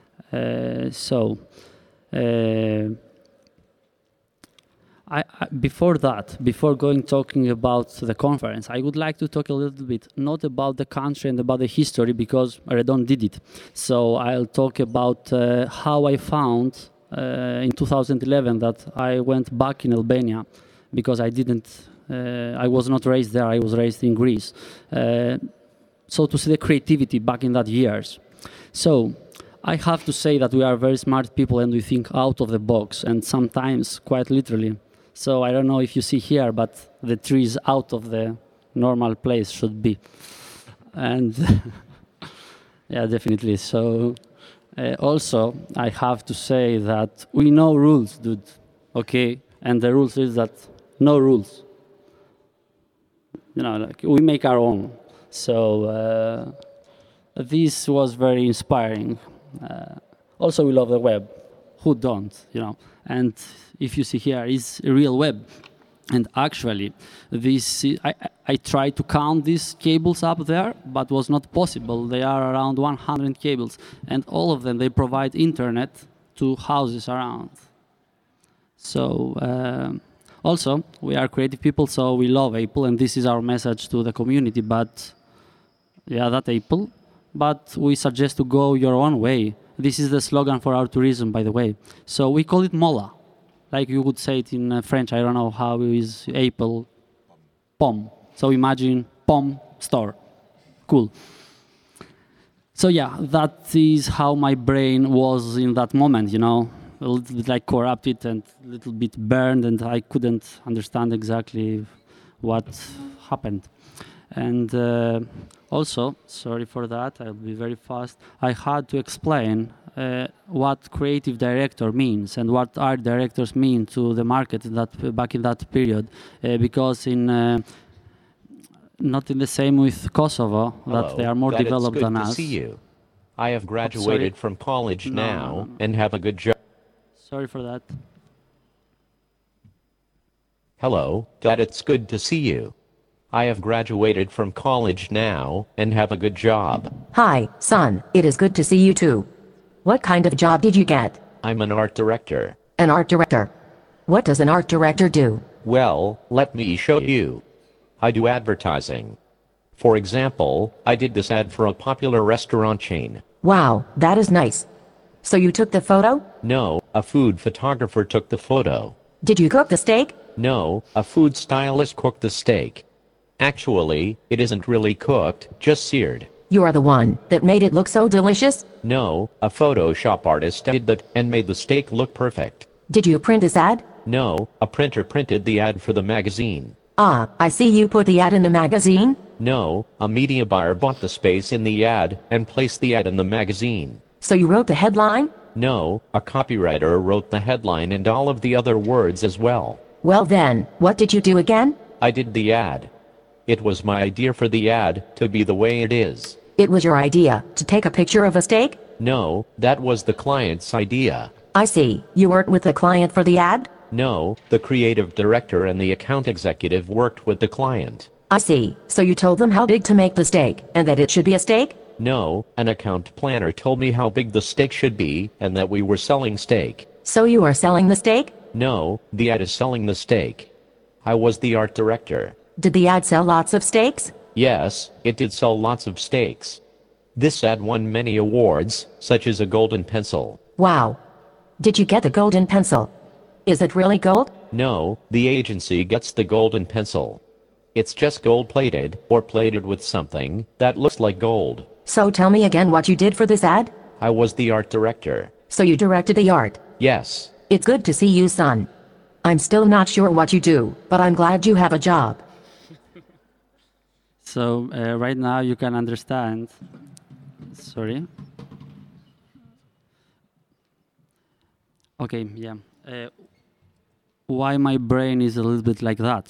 Before talking about the conference, I would like to talk a little bit, not about the country and about the history, because Redon did it. So I'll talk about how I found in 2011 that I went back in Albania, because I was not raised there, I was raised in Greece. So to see the creativity back in that years. So I have to say that we are very smart people and we think out of the box, and sometimes quite literally. So I don't know if you see here, but the tree is out of the normal place should be. And yeah, definitely. So also, I have to say that we know rules, dude, okay? And the rules is that no rules. You know, like we make our own. So this was very inspiring. Also, we love the web. Who don't, you know? And if you see here, it's a real web. And actually, I tried to count these cables up there, but was not possible. They are around 100 cables. And all of them, they provide internet to houses around. So also, we are creative people, so we love Apple. And this is our message to the community. But yeah, that Apple. But we suggest to go your own way. This is the slogan for our tourism, by the way. So we call it Mola. Like you would say it in French. I don't know how is Apple. Pomme. So imagine Pomme store. Cool. So yeah, that is how my brain was in that moment, you know. A little bit like corrupted and a little bit burned, and I couldn't understand exactly what happened. And also, sorry for that, I'll be very fast. I had to explain what creative director means and what art directors mean to the market back in that period, because not in the same with Kosovo, that they are more developed than us. It's good to see you. I have graduated from college now and have a good job. Sorry for that. Hello, Dad, it's good to see you. I have graduated from college now and have a good job. Hi, son, it is good to see you too. What kind of job did you get? I'm an art director. An art director? What does an art director do? Well, let me show you. I do advertising. For example, I did this ad for a popular restaurant chain. Wow, that is nice. So you took the photo? No, a food photographer took the photo. Did you cook the steak? No, a food stylist cooked the steak. Actually, it isn't really cooked, just seared. You are the one that made it look so delicious? No, a Photoshop artist did that and made the steak look perfect. Did you print this ad? No, a printer printed the ad for the magazine. Ah, I see you put the ad in the magazine? No, a media buyer bought the space in the ad and placed the ad in the magazine. So you wrote the headline? No, a copywriter wrote the headline and all of the other words as well. Well then, what did you do again? I did the ad. It was my idea for the ad to be the way it is. It was your idea to take a picture of a steak? No, that was the client's idea. I see. You weren't with the client for the ad? No, the creative director and the account executive worked with the client. I see. So you told them how big to make the steak, and that it should be a steak? No, an account planner told me how big the steak should be, and that we were selling steak. So you are selling the steak? No, the ad is selling the steak. I was the art director. Did the ad sell lots of steaks? Yes, it did sell lots of steaks. This ad won many awards, such as a golden pencil. Wow. Did you get the golden pencil? Is it really gold? No, the agency gets the golden pencil. It's just gold-plated, or plated with something that looks like gold. So tell me again what you did for this ad? I was the art director. So you directed the art? Yes. It's good to see you, son. I'm still not sure what you do, but I'm glad you have a job. So right now you can understand. Sorry. Okay, yeah. Why my brain is a little bit like that?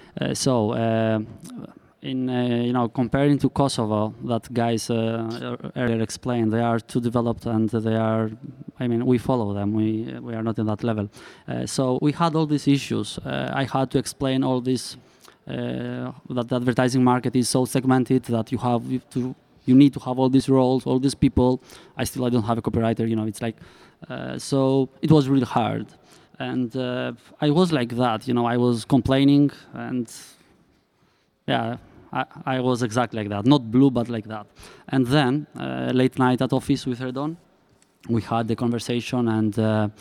Comparing to Kosovo, that guys earlier explained, they are too developed and they are. I mean, we follow them. We are not in that level. So we had all these issues. I had to explain all this. That the advertising market is so segmented that you need to have all these roles, all these people. I don't have a copywriter. It's like. So it was really hard. And I was like that, I was complaining, and yeah, I was exactly like that. Not blue, but like that. And then, late night at office with Redon, we had the conversation, and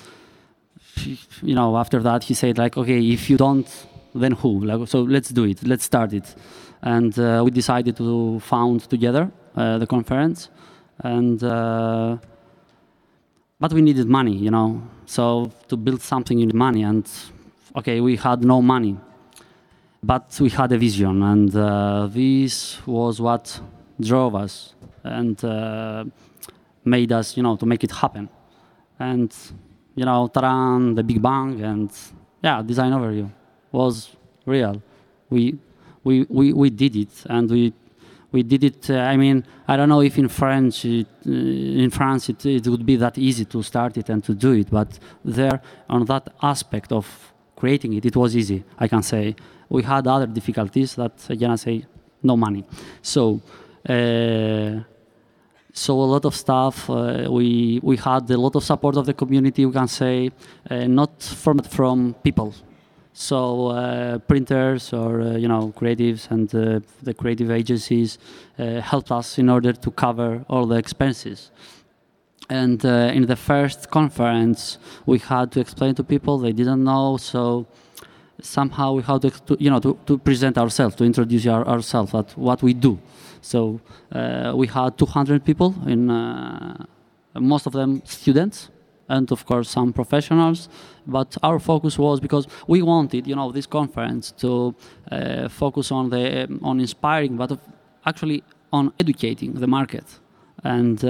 after that he said like, okay, if you don't, then who? Like, so let's do it, let's start it. And we decided to found together the conference, and but we needed money, So to build something, you need money, and okay, we had no money, but we had a vision, and this was what drove us and made us, to make it happen. And Taran, the Big Bang, and yeah, design overview was real. We did it, and we did it. I mean, I don't know if in France it would be that easy to start it and to do it, but there, on that aspect of creating it, it was easy, I can say. We had other difficulties that, again, I say, no money. So a lot of stuff, we had a lot of support of the community, we can say, not from people. So printers or creatives and the creative agencies helped us in order to cover all the expenses. And in the first conference, we had to explain to people, they didn't know, so somehow we had to present ourselves, to introduce ourselves, at what we do. So we had 200 people, most of them students, and of course some professionals, but our focus was, because we wanted, this conference to focus on inspiring, but actually on educating the market, and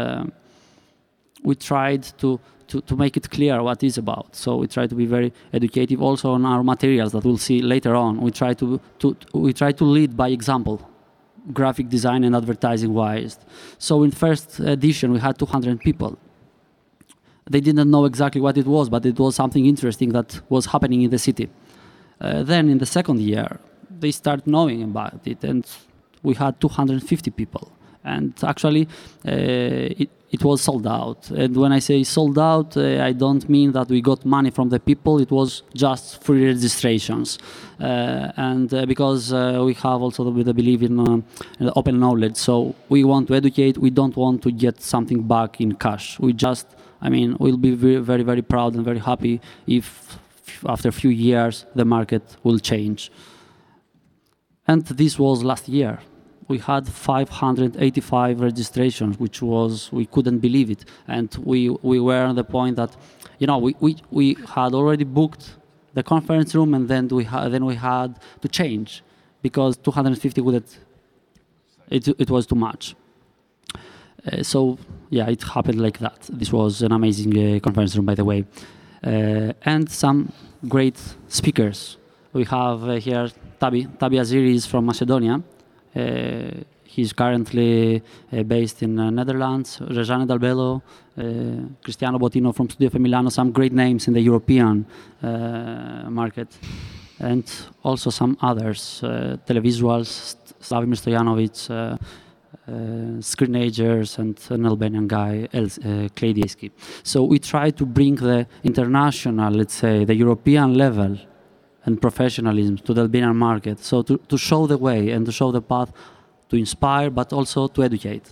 we tried to make it clear what it's about. So we try to be very educative also on our materials that we'll see later on. We try to lead by example, graphic design and advertising wise. So in first edition we had 200 people. They didn't know exactly what it was, but it was something interesting that was happening in the city. Then in the second year, they start knowing about it, and we had 250 people. And actually, it was sold out. And when I say sold out, I don't mean that we got money from the people. It was just free registrations. Because we have also the belief in open knowledge. So we want to educate. We don't want to get something back in cash. We'll be very, very, very proud and very happy if after a few years the market will change. And this was last year. We had 585 registrations, which was, we couldn't believe it. And we were on the point that, we had already booked the conference room, and then we had to change because 250 it was too much. So yeah, it happened like that. This was an amazing conference room, by the way, and some great speakers. We have here Tabi Aziri is from Macedonia. He's currently based in Netherlands. Rejane Dalbello, Cristiano Bottino from Studio Femilano, some great names in the European market, and also some others, televisuals, Slavomir Stojanovic, Screenagers, and an Albanian guy, Clay Diesky. So we try to bring the international, let's say, the European level and professionalism to the Albanian market. So to show the way and to show the path, to inspire, but also to educate.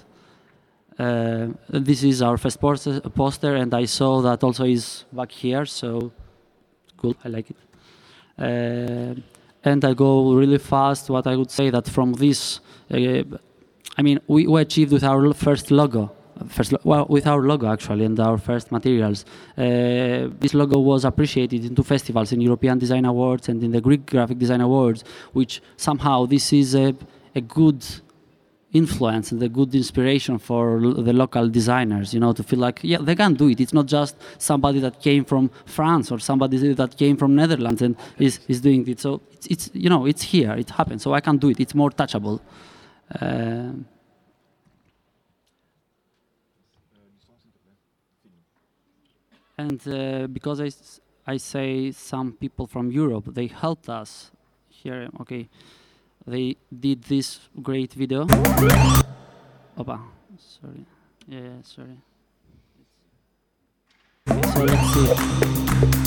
This is our first poster, and I saw that also is back here, so cool, I like it. And I go really fast. What I would say that from this, I mean, we achieved with our first logo. With our logo actually and our first materials. This logo was appreciated in 2 festivals, in European Design Awards and in the Greek Graphic Design Awards, which somehow this is a good influence and a good inspiration for the local designers, you know, to feel like, yeah, they can do it. It's not just somebody that came from France or somebody that came from Netherlands and is doing it. So it's you know, it's here, it happens. So I can do it. It's more touchable. And because I say some people from Europe, they helped us here. Okay, they did this great video. Opa, sorry. Yeah, sorry. So let's see.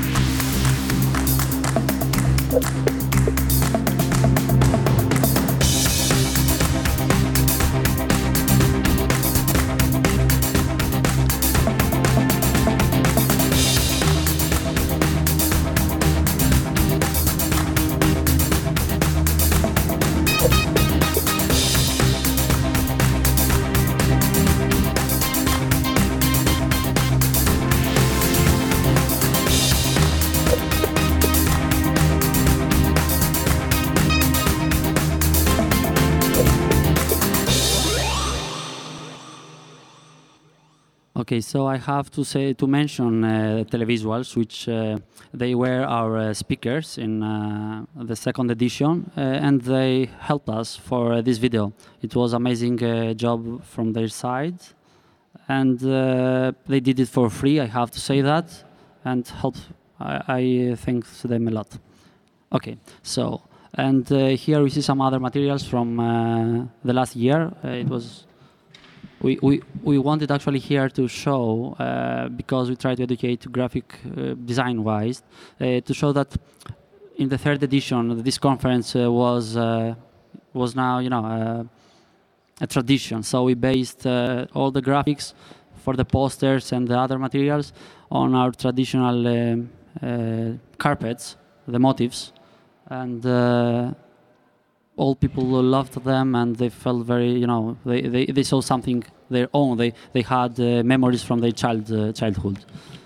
Okay, so I have to mention Televisuals, which they were our speakers in the 2nd edition, and they helped us for this video. It was amazing job from their side, and they did it for free. I have to say that, and I thank them a lot. Okay, so and here we see some other materials from the last year. It was. We wanted actually here to show, because we try to educate graphic design-wise, to show that in the 3rd edition this conference was now, you know, a tradition. So we based all the graphics for the posters and the other materials on our traditional carpets, the motifs, and all people loved them, and they felt very, you know, they saw something their own. They had memories from their childhood.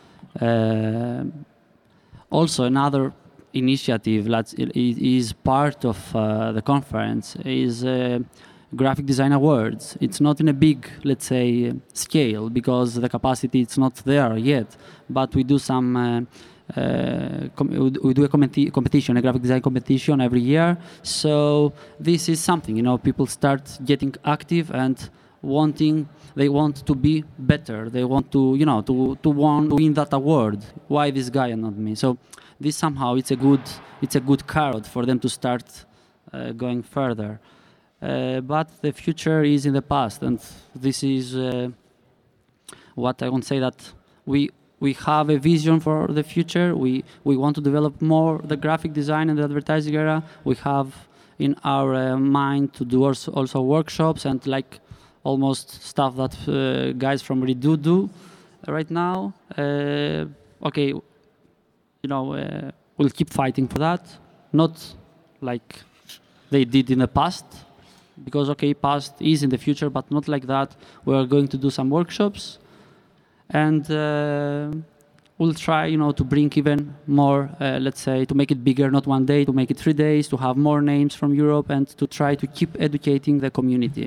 Also, another initiative that is part of the conference is Graphic Design Awards. It's not in a big, let's say, scale because the capacity it's not there yet, but we do some. We do a competition, a graphic design competition every year. So this is something, you know, people start getting active and they want to be better. They want to, you know, to win that award. Why this guy and not me? So this somehow it's a good carrot for them to start going further. But the future is in the past, and this is what I want to say that we have a vision for the future. We want to develop more the graphic design and the advertising era. We have in our mind to do also workshops and like almost stuff that guys from Redo do right now. Okay, you know, we'll keep fighting for that. Not like they did in the past, because okay, past is in the future, but not like that. We are going to do some workshops. And we'll try, you know, to bring even more, let's say, to make it bigger, not 1 day, to make it 3 days, to have more names from Europe, and to try to keep educating the community.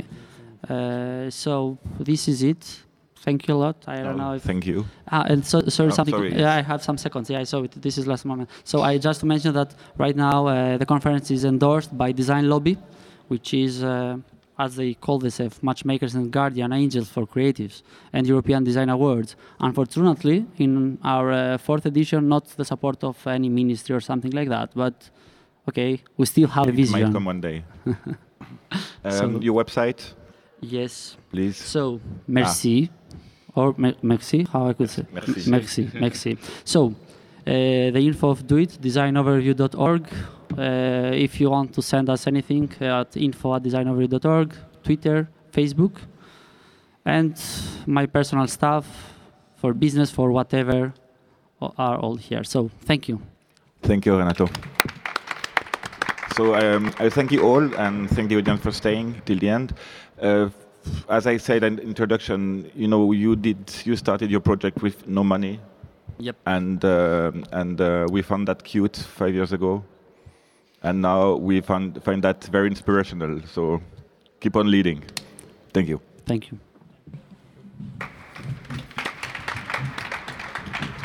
So this is it. Thank you a lot. I don't know if... Thank you. And so, sorry, something. Sorry. Yeah, I have some seconds. Yeah, I saw it. This is last moment. So I just to mention that right now the conference is endorsed by Design Lobby, which is... as they call themselves, matchmakers and guardian angels for creatives, and European Design Awards. Unfortunately, in our 4th edition, not the support of any ministry or something like that, but okay, we still have a vision. It might come one day. Your website? Yes. Please. So, merci, or merci, how I could say? Merci. Merci. So, the info of Do It, designoverview.org. If you want to send us anything at info@designoverview.org, Twitter, Facebook, and my personal stuff for business, for whatever, are all here. So thank you. Thank you, Renato. So I thank you all and thank the audience for staying till the end. As I said in introduction, you started your project with no money. Yep. And we found that cute 5 years ago, and now we find that very inspirational. So keep on leading. Thank you. Thank you.